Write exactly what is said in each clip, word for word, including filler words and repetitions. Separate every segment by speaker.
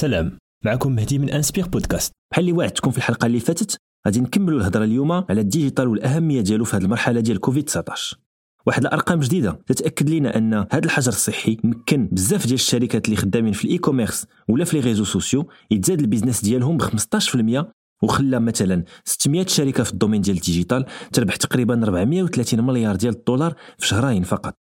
Speaker 1: سلام، معكم مهدي من انسبير بودكاست. بحال اللي وعدتكم في الحلقه اللي فاتت غادي نكملوا الهضره اليوم على الديجيتال والاهميه ديالو في هذه المرحله ديال كوفيد تسعطاش. واحد الارقام جديده تتاكد لنا ان هذا الحجر الصحي ممكن بزاف ديال الشركات اللي خدامين في الاي كوميرس ولا في لي ريزو سوسيو يتزاد البيزنس ديالهم ب خمسطاش بالمية، وخلى مثلا ستمية شركه في الدومين ديال الديجيتال تربح تقريبا أربعمية وثلاثين مليار ديال الدولار في شهرين فقط.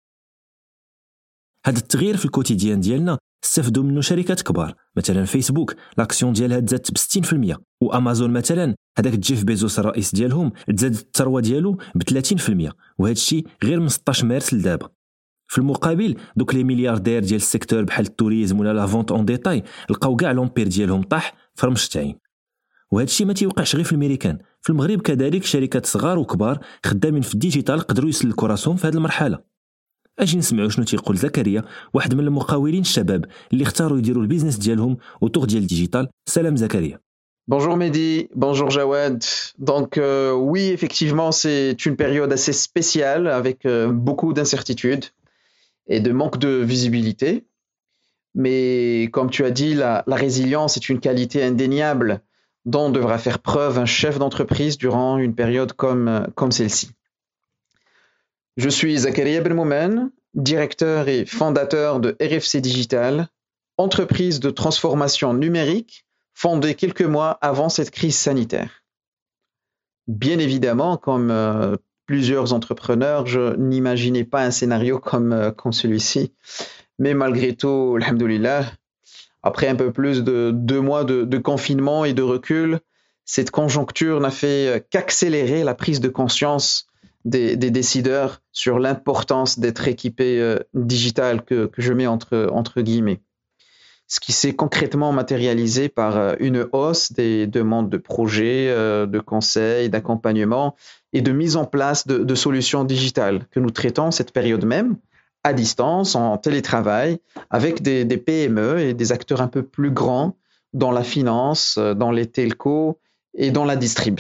Speaker 1: هذا التغيير في الكوتيديان ديالنا استفدوا منه شركات كبار، مثلا فيسبوك لاكسيون ديالها تزادت ب ستين بالمية، وامازون مثلا هذاك جيف بيزوس الرئيس ديالهم تزادت الثروه ديالو ب ثلاثين بالمية، وهذا الشيء غير من ستطاش مارس لدابا. في المقابل دوك لي ملياردير ديال السيكتور بحال التوريزم ولا لا فونت اون ديتاي لقاو كاع لومبير ديالهم طاح في رمش عين. وهذا الشيء ما تيوقعش غير في الامريكان، في المغرب كذلك شركات صغار وكبار خدامين في الديجيتال قدروا يسلكوا راسهم في هذه المرحله. اجي نسمعوا شنو تيقول زكريا، واحد من المقاولين الشباب اللي اختاروا يديروا البيزنس ديالهم وطوغ ديال الديجيتال. سلام زكريا.
Speaker 2: Bonjour Mehdi, bonjour Jawad. Donc euh, oui, effectivement, c'est une période assez spéciale avec euh, beaucoup d'incertitudes et de manque de visibilité. Mais comme tu as dit, la, la résilience est une qualité indéniable dont devra faire preuve un chef d'entreprise durant une période comme, comme celle-ci. Je suis Zakaria Benmoumen, directeur et fondateur de R F C Digital, entreprise de transformation numérique fondée quelques mois avant cette crise sanitaire. Bien évidemment, comme euh, plusieurs entrepreneurs, je n'imaginais pas un scénario comme, euh, comme celui-ci. Mais malgré tout, alhamdoulilah, après un peu plus de deux mois de, de confinement et de recul, cette conjoncture n'a fait qu'accélérer la prise de conscience des, des décideurs sur l'importance d'être équipé euh, digital que, que je mets entre, entre guillemets. Ce qui s'est concrètement matérialisé par une hausse des demandes de projets, de conseils, d'accompagnement et de mise en place de, de solutions digitales que nous traitons cette période même à distance, en télétravail, avec des, des P M E et des acteurs un peu plus grands dans la finance, dans les telcos et dans la distrib.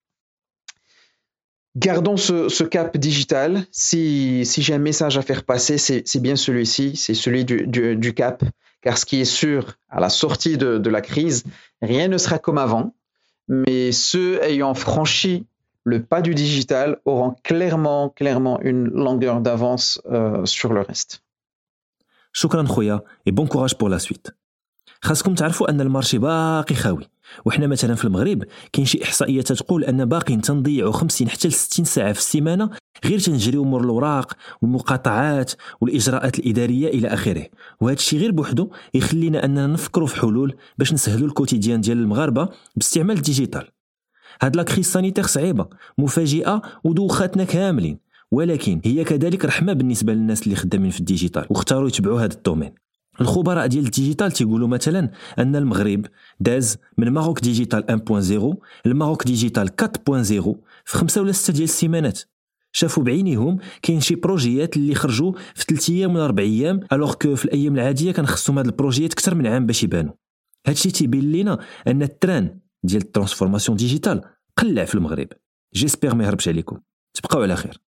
Speaker 2: Gardons ce, ce cap digital. Si, si j'ai un message à faire passer, c'est, c'est bien celui-ci, c'est celui du, du, du cap. Car ce qui est sûr, à la sortie de, de la crise, rien ne sera comme avant, mais ceux ayant franchi le pas du digital auront clairement, clairement une longueur d'avance euh, sur le reste.
Speaker 1: شكرا خويا et bon courage pour la suite. خاصكم تعرفوا ان المارشي باقي خاوي، وحنا مثلا في المغرب كاين شي احصائيات تقول ان باقي تنضيعوا خمسين حتى ستين ساعه في السيمانه غير تنجريو مور الاوراق والمقاطعات والاجراءات الاداريه الى اخره. وهذا الشيء غير بوحدو يخلينا اننا نفكروا في حلول باش نسهلوا الكوتيديان ديال المغاربه باستعمال الديجيتال. هاد لا كريس سانيتير صعيبه مفاجئه ودوخاتنا كاملين، ولكن هي كذلك رحمه بالنسبه للناس اللي خدامين في الديجيتال واختاروا يتبعوا هذا الدومين. الخبراء ديال الديجيتال تيقولوا مثلا ان المغرب داز من ماروك ديجيتال واحد نقطة صفر لماروك ديجيتال أربعة نقطة صفر في خمسة ولا ستة ديال السيمانات. شافوا بعينيهم كاين شي بروجيات اللي خرجوا في ثلاث ايام ولا أربع ايام، الوغ كو في الايام العاديه كنخصهم هاد البروجيات اكثر من عام باش يبانوا. هادشي تيبين لينا ان التران ديال الترانسفورماسيون ديجيتال قلع في المغرب. جيسبر ما يهربش عليكم. تبقاو على خير.